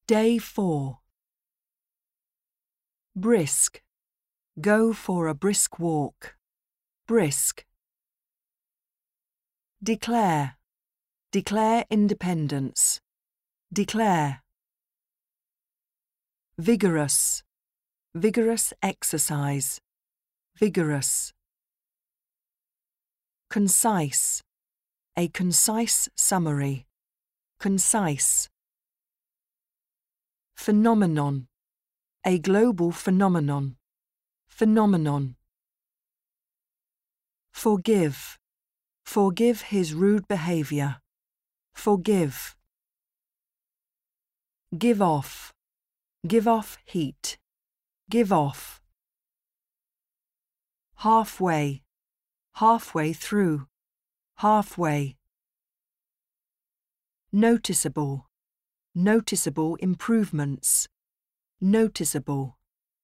Day 4. Brisk. Go for a brisk walk. Brisk. Declare. Declare independence. Declare. Vigorous. Vigorous exercise. Vigorous. Concise. A concise summary. Concise. Phenomenon. A global phenomenon. Phenomenon. Forgive. Forgive his rude behavior. Forgive. Give off. Give off heat. Give off. Halfway. Halfway through. Halfway. Noticeable. Noticeable improvements. Noticeable.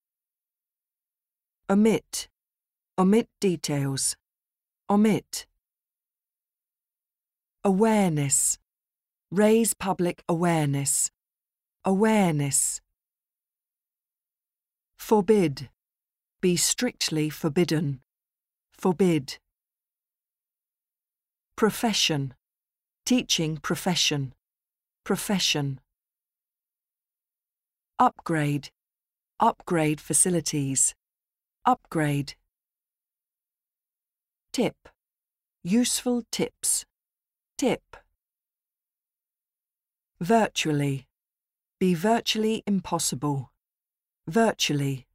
Omit. Omit details. Omit. Awareness. Raise public awareness. Awareness. Forbid. Be strictly forbidden. Forbid. Profession. Teaching profession. Profession. Upgrade. Upgrade facilities. Upgrade. Tip. Useful tips. Tip. Virtually. Be virtually impossible. Virtually.